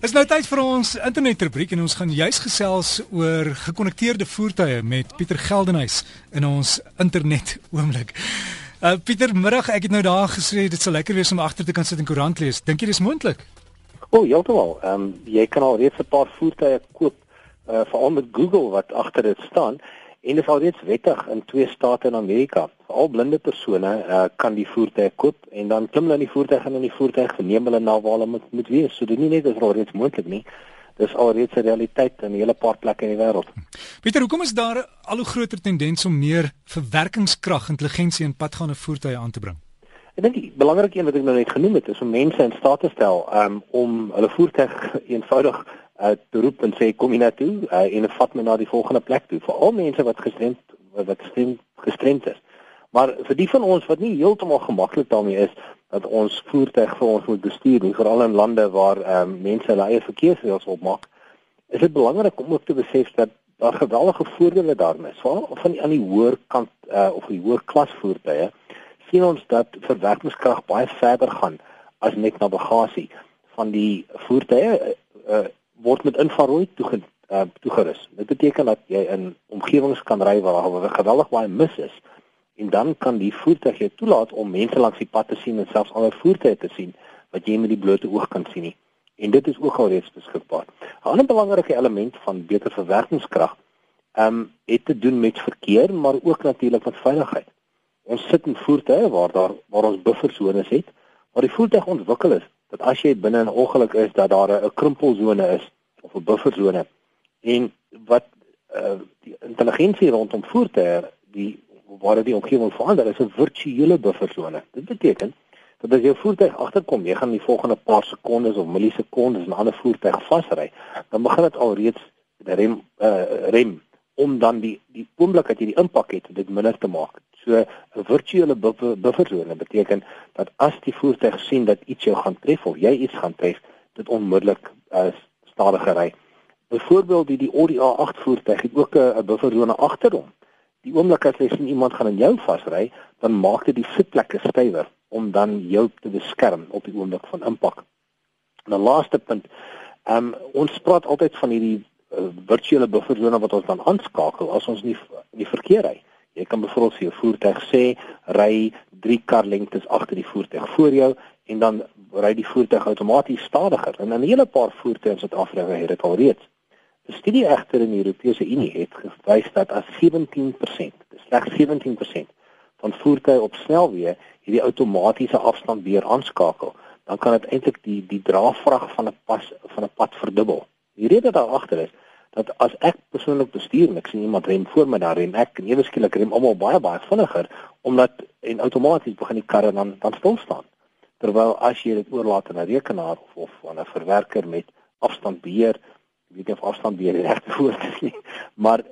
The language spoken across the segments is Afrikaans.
Is nou tyd vir ons internetrubriek en ons gaan juis gesels oor gekonnekteerde voertuie met Pieter Geldenhuys in ons internet oomblik. Pieter, middag, ek het nou daar gesê dit sal lekker wees om agter te kan sit en koerant lees. Dink jy dis moontlik? Heeltemal. Jy kan al reeds 'n paar voertuie koop, veral met Google wat agter dit staan. En dit is al reeds wettig in 2 state in Amerika. Veral blinde persone kan die voertuig koop en dan klim hulle in die voertuig en in die voertuig neem hulle na waar hulle moet wees. So dit nie net is al reeds moontlik nie. Dis al reeds 'n realiteit in 'n hele paar plekke in die wêreld. Pieter, hoekom is daar al hoe groter tendens om meer verwerkingskrag, intelligensie in padgaande voertuie aan te bring? Ek dink die belangrike een wat ek nou net genoem het is om mense in staat te stel om hulle voertuig eenvoudig te roep en sê kom hier na toe en vat my na die volgende plek toe. Veral mense wat gestremd is. Maar vir die van ons wat nie heeltemal gemaklik daarmee is dat ons voertuig vir ons moet bestuur nie, veral in lande waar mense hulle eie verkeersreëls opmaak, is dit belangrik om ook te besef dat daar geweldige voordele daarin is. Veral aan die hoër kant of die hoër klas voertuie sien ons dat verwerkingskrag baie verder gaan as net navigasie. Van die voertuie word met infrarooi toegerus. Dit beteken dat jy in omgewings kan ry waar geweldig baie mis is en dan kan die voertuig jou toelaat om mense langs die pad te sien en selfs ander voertuie te sien wat jy met die blote oog kan sien nie. En dit is ook al reeds beskikbaar. 'n Ander belangrike element van beter verwerkingskrag het te doen met verkeer, maar ook natuurlik met veiligheid. Ons sit in voertuie waar ons bufferzones het, waar die voertuig ontwikkel is dat as jy binne 'n ongeluk is dat daar 'n krimpelzone is of 'n bufferzone en wat die intelligensie rondom voertuie waar die omgewing verander is 'n virtuele bufferzone. Dit beteken dat as jou voertuig agterkom, jy gaan die volgende paar sekondes of millisekondes 'n ander voertuig vasry, dan begin dit alreeds rem om dan die oomblik dat jy die impak het, dit minder te maak. So 'n virtuele bufferzone beteken dat as die voertuig sien dat iets jou gaan tref of jy iets gaan tref, dit onmiddellik stadiger ry. Byvoorbeeld die Audi A8 voertuig het ook 'n bufferzone agter hom. Die oomblik as jy sien iemand gaan in jou vasry, dan maak dit die sitplekke stywer om dan jou te beskerm op die oomblik van impak. En 'n laaste punt, ons praat altyd van hierdie virtuele bufferzone wat ons dan aanskakel as ons in die verkeer ry. Jy kan byvoorbeeld vir jou voertuig sê, ry 3 karlengtes agter die voertuig voor jou en dan ry die voertuig outomaties stadiger. En 'n hele paar voertuie in Suid-Afrika het dit al reeds. 'n Studie egter in die Europese Unie het gewys dat as 17%, slegs 17% van voertuie op snelweë hierdie outomatiese afstandbeheer aanskakel, dan kan dit eintlik die draagvrag van 'n pad verdubbel. Die rede daar agter is dat as ek persoonlik bestuur en ek sien iemand rem voor my, dan rem ek en ewe skielik rem almal baie vinniger omdat en outomaties begin die karre dan stil staan. Terwyl as jy dit oorlaat aan 'n rekenaar of aan 'n verwerker met afstandbeheer, ek weet nie of afstandbeheer die regte woord is nie, maar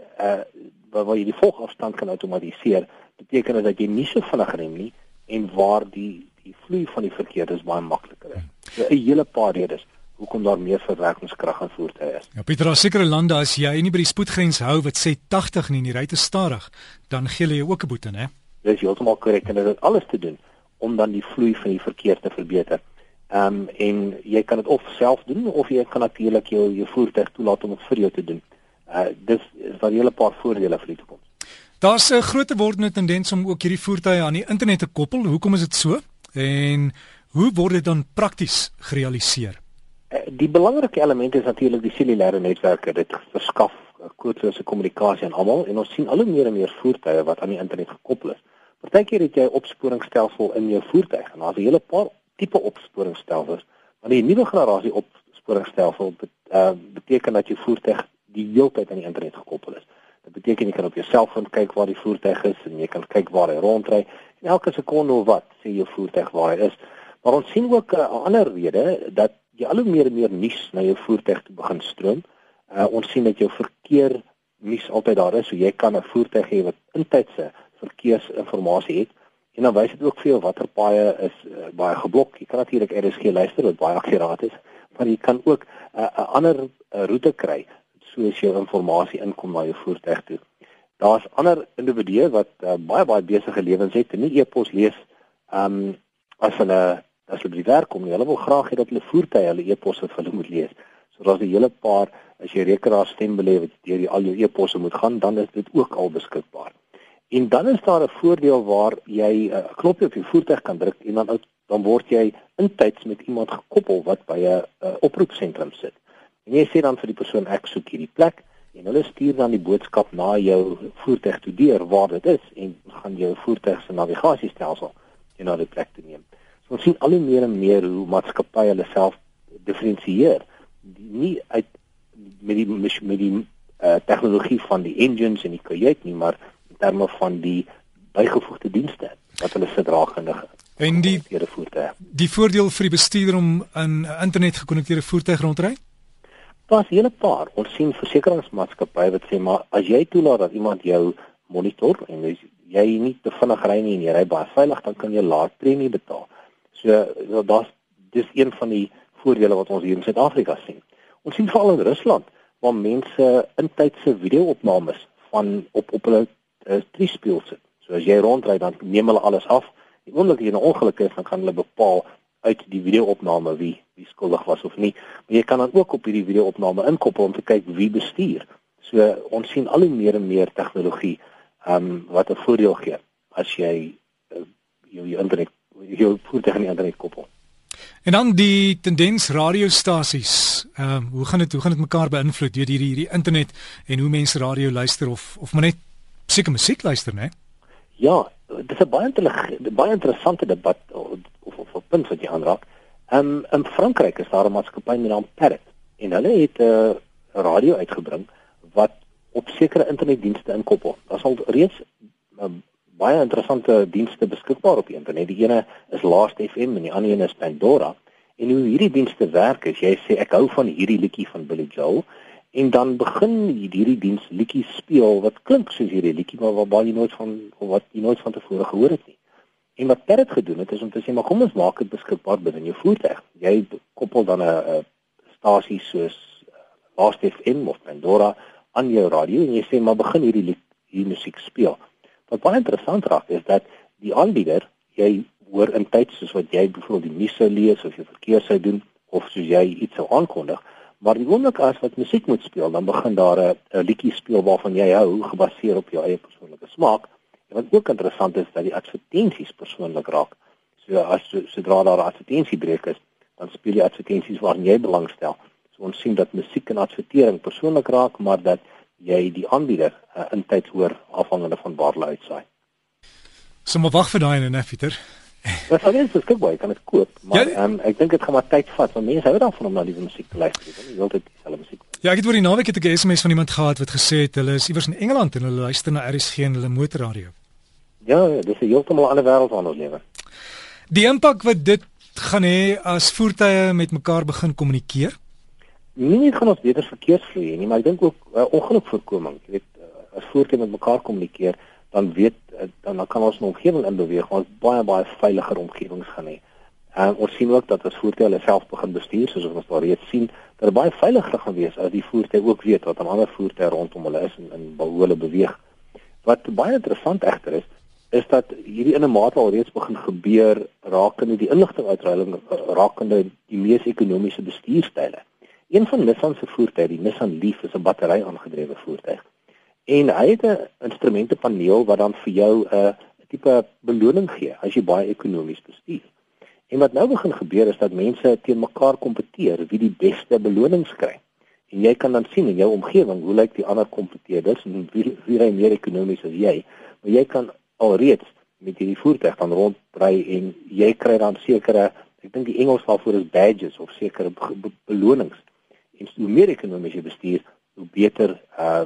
waar jy die volgafstand kan outomatiseer, beteken dit dat jy nie so vinnig rem nie en waar die vloei van die verkeer is baie makliker is. So 'n hele paar redes hoekom daar meer verwerkingskrag aan voertuie is. Ja, Pieter, daar sekere lande as jy nie by die spoedgrens hou wat sê 80 nie en jy ry te stadig, dan gee hulle jou ook 'n boete, né? Dit is heeltemal korrek en dit het alles te doen om dan die vloei van die verkeer te verbeter. En jy kan dit of self doen of jy kan natuurlik jou voertuig toelaat om dit vir jou te doen. Dis daar 'n hele paar voordele vir die toekoms. Daar's 'n groter wordende tendens om ook hierdie voertuie aan die internet te koppel. Hoekom is dit so? En hoe word dit dan prakties gerealiseer? Die belangrike element is natuurlik die cellulaire netwerke. Dit verskaf koordinate kommunikasie aan almal en ons sien al hoe meer en meer voertuie wat aan die internet gekoppel is. Partykeer het jy 'n opsporingsstelsel in jou voertuig en daar's 'n hele paar tipe opsporingsstelsels. Maar die nuwe generasie opsporingsstelsel beteken dat jou voertuig die hele tyd aan die internet gekoppel is. Dit beteken jy kan op jou selfoon kyk waar die voertuig is en jy kan kyk waar hy rondry en elke sekonde of wat sê jou voertuig waar hy is. Maar ons sien ook 'n ander rede dat jy al hoe meer en meer nuus na jou voertuig toe begin stroom. Ons sien dat jou verkeer nuus altyd daar is, so jy kan 'n voertuig hê wat intydse verkeersinformasie het en dan wys dit ook vir jou watter paaie is baie geblok. Jy kan natuurlik RSG luister wat baie akkuraat is, maar jy kan ook 'n ander roete kry soos jou inligting inkom na jou voertuig toe. Daar's ander individue wat baie besige lewens het en nie e-pos lees as hulle by die werk kom nie. Hulle wil graag hê dat hulle voertuie hulle e-posse vir hulle moet lees. So daar's 'n hele paar, as jy rekenaar stem belê wat deur al jou e-posse moet gaan, dan is dit ook al beskikbaar. En dan is daar 'n voordeel waar jy 'n knoppie op jou voertuig kan druk en dan word jy intyds met iemand gekoppel wat by 'n oproepsentrum sit. En jy sê dan vir die persoon ek soek hierdie plek en hulle stuur dan die boodskap na jou voertuig toe deur waar dit is en gaan jou voertuig se navigasiestelsel na die plek te neem. So ons sien al hoe meer en meer hoe maatskappye hulle self diferensieer, nie uit met die tegnologie van die engines en die kajuit nie, maar in terme van die bygevoegde dienste wat hulle sit rakende en die voordeel vir die bestuurder om 'n internet gekonnekteerde voertuig rondry? Daar's 'n hele paar. Ons sien versekeringsmaatskappye wat sê maar as jy toelaat dat iemand jou monitor en jy nie te vinnig ry nie en jy ry baie veilig, dan kan jy laer premie betaal. So dis een van die voordele wat ons hier in Suid-Afrika sien. Ons sien veral in Rusland waar mense intydse video-opnames van op hulle triespieël sit. So as jy rondry dan neem hulle alles af. Die oomblik jy 'n ongeluk is, dan kan hulle bepaal uit die video-opname wie skuldig was of nie. Maar jy kan dan ook op hierdie video-opname inkoppel om te kyk wie bestuur. So ons sien al hoe meer en meer tegnologie wat 'n voordeel gee as jy jou voertuig aan die internet koppel. En dan die tendens radiostasies. Hoe gaan dit mekaar beïnvloed deur hierdie internet en hoe mense radio luister of maar net seker musiek luister, né? Ja, dit is 'n baie interessante debat of 'n punt wat jy aanraak. In Frankryk is daar 'n maatskappy met naam Parrot en hulle het 'n radio uitgebring wat op sekere internetdienste inkoppel. Daar sal reeds baie interessante dienste beskikbaar op die internet. Die ene is Last FM en die ander een is Pandora. En hoe hierdie dienste werk is, jy sê ek hou van hierdie liedjie van Billy Joel en dan begin hierdie diens liedjies speel wat klink soos hierdie liedjie maar wat jy nooit van tevore gehoor het nie. En wat Parrot gedoen het is om te sê maar kom ons maak dit beskikbaar binne jou voertuig. Jy koppel dan 'n stasie soos Last FM of Pandora aan jou radio en jy sê maar begin hierdie musiek speel. Wat baie interessant raak is dat die aanbieder, jy hoor in tyd soos wat jy byvoorbeeld die nuus sou lees of jy verkeer sou doen of soos jy iets sou aankondig, maar die oomblik as wat musiek moet speel, dan begin daar 'n liedjie speel waarvan jy hou, gebaseer op jou eie persoonlike smaak. En wat ook interessant is dat die advertensies persoonlik raak. So sodra daar 'n advertensiebreek is, dan speel die advertensies waarin jy belangstel. So ons sien dat musiek en advertering persoonlik raak, maar dat jy die aanbieder in tyd hoor afhangende van waar hulle uitsaai. So maar wag vir daai en Pieter. Dit sal net beskikbaar, jy kan dit koop, maar ek dink dit gaan maar tyd vat want mense hou daarvan om na die musiek te luister, nie heeltyd dieselfde musiek. Ja, ek het oor die naweek 'n SMS van iemand gehad wat gesê het hulle is iewers in Engeland en hulle luister na RSG en hulle motorradio. Ja, dis 'n heeltemal ander wêreld waarin ons lewe. Die impak wat dit gaan hê as voertuie met mekaar begin kommunikeer? Nie gaan ons beter verkeersvloei nie, maar ek dink ook ongelukvoorkoming. Jy weet, as voertuie met mekaar kommunikeer, dan kan ons 'n omgewing inbeweeg, ons baie veiliger omgewings gaan hê. Ons sien ook dat as voertuie hulle self begin bestuur, soos ons daar reeds sien, dat dit baie veiliger gaan wees as die voertuie ook weet wat 'n ander voertuie rondom hulle is en hoe hulle beweeg. Wat baie interessant egter is dat hierdie in 'n mate al reeds begin gebeur rakende die inligtinguitruiling rakende die mees ekonomiese bestuurstyle. Een van Nissan se voertuie, die Nissan Leaf, is 'n battery-aangedrewe voertuig. En hy het 'n instrumentepaneel wat dan vir jou 'n tipe beloning gee as jy baie ekonomies bestuur. En wat nou begin gebeur is dat mense teen mekaar kompeteer wie die beste belonings kry. En jy kan dan sien in jou omgewing hoe lyk die ander kompeteerders en wie ry meer ekonomies as jy. Maar jy kan alreeds met hierdie voertuig dan rondry en jy kry dan sekere, ek dink die Engels daarvoor is badges of sekere belonings. En hoe meer ekonomies jy bestuur, hoe beter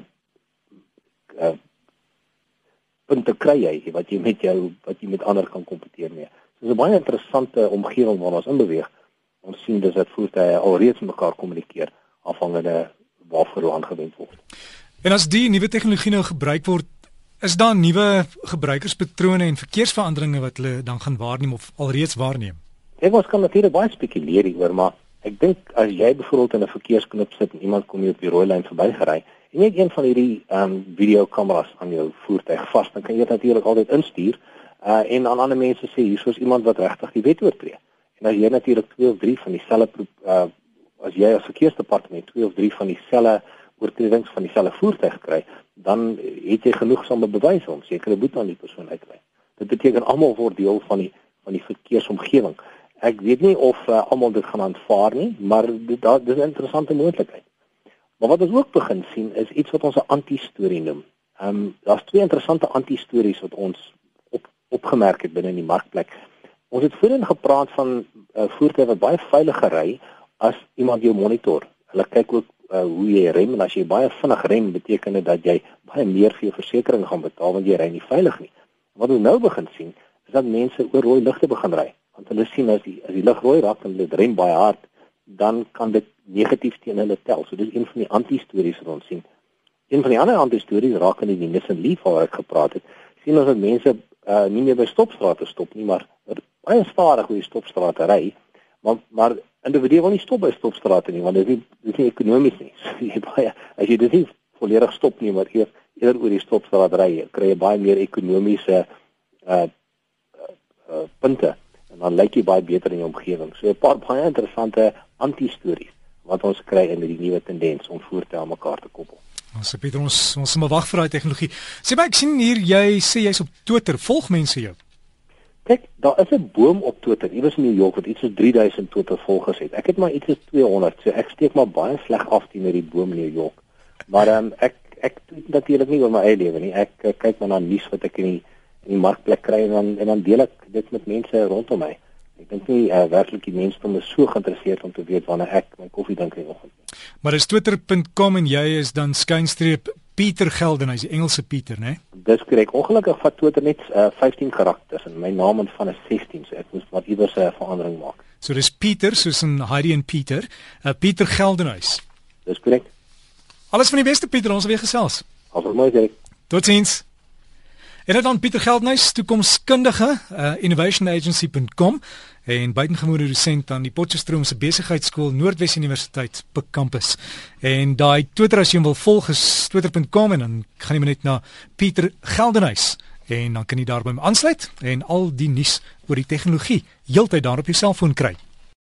punte kry jy wat jy met ander kan kompeteer mee. So 'n baie interessante omgewing waarin ons inbeweeg. Ons sien dus dat voertuie alreeds met mekaar kommunikeer afhangende waarvoor hulle aangewend word. En as die nuwe tegnologie nou gebruik word, is daar nuwe gebruikerspatrone en verkeersveranderinge wat hulle dan gaan waarneem of alreeds waarneem? Ons kan natuurlik baie spekuleer hieroor, maar ek dink as jy byvoorbeeld in 'n verkeersknop sit en iemand kom jy op die rooi lyn verbygery en jy het een van hierdie videokameras aan jou voertuig vas, dan kan jy dit natuurlik altyd instuur en aan ander mense sê hier is iemand wat regtig die wet oortree. En as jy natuurlik 2 of 3 van dieselfde as jy as verkeersdepartement 2 of 3 van dieselfde oortredings van dieselfde voertuig kry, dan het jy genoegsame bewyse om sekere boete aan die persoon uit te lei. Dit beteken almal word deel van die verkeersomgewing. Ek weet nie of almal dit gaan aanvaar nie, maar dis 'n interessante moontlikheid. Maar wat ons ook begin sien is iets wat ons 'n anti-storie noem. Daar's 2 interessante anti-stories wat ons opgemerk het binne in die markplek. Ons het voorheen gepraat van voertuie wat baie veiliger ry as iemand jou monitor. Hulle kyk ook hoe jy rem, en as jy baie vinnig rem, beteken dit dat jy baie meer vir jou versekering gaan betaal want jy ry nie veilig nie. Wat ons nou begin sien, is dat mense oor rooi ligte begin ry. Want hulle sien as die lig rooi raak en hulle rem baie hard, dan kan dit negatief teen hulle tel. So dis een van die anti-stories wat ons sien. Een van die ander anti-stories raak in die Nissan Leaf waar ek gepraat het. Sien ons dat mense nie meer by stopstrate stop nie, maar baie stadig oor die stopstrate ry. Maar individue wil nie stop by stopstrate nie, want dit is nie ekonomies nie. So as jy dit nie volledig stop nie, maar eerder oor die stopstraat ry, kry jy baie meer ekonomiese punte, en dan lyk jy baie beter in jou omgewing. So 'n paar baie interessante anti-stories wat ons kry in die nuwe tendens om voertuie aan mekaar te koppel. Ons Pieter, ons moet wag vir daai tegnologie. Sê maar, ek sien hier jy sê jy's op Twitter, volg mense jou? Kyk, daar is 'n boom op Twitter, iewers in New York wat iets soos 3000 Twitter volgers het. Ek het maar iets soos 200, so ek steek maar baie sleg af teenoor die boom in New York. Maar ek tweet natuurlik nie oor my eie lewe nie. Ek kyk maar na nuus wat ek in die markplek kry en dan deel ek dit met mense rondom my. Ek dink nie werklik die mense is so geïnteresseerd om te weet wanneer ek my koffie drink in die oggend. Maar dis twitter.com en jy is dan skynstreep Pieter Geldenhuys, die Engelse Pieter, né? Dis korrek. Ongelukkig vat Twitter net 15 karakters en my naam en van is 16, so ek moes wat iewers 'n verandering maak. So dis Pieter soos in Heidi en Pieter, Pieter Geldenhuys. Dis korrek. Alles van die beste Pieter, ons weer gesels. Alles mooi, Derek. Totsiens. En dan Pieter Geldenhuys, toekomskundige, innovationagency.com en buitengewone dosent aan die Potchefstroom se besigheidskool Noordwes Universiteit Pik Kampus. En daai Twitter as jy hom wil volg is twitter.com en dan gaan jy maar net na Pieter Geldenhuys en dan kan jy daar by hom aansluit en al die nuus oor die tegnologie heeltyd daar op jou selfoon kry.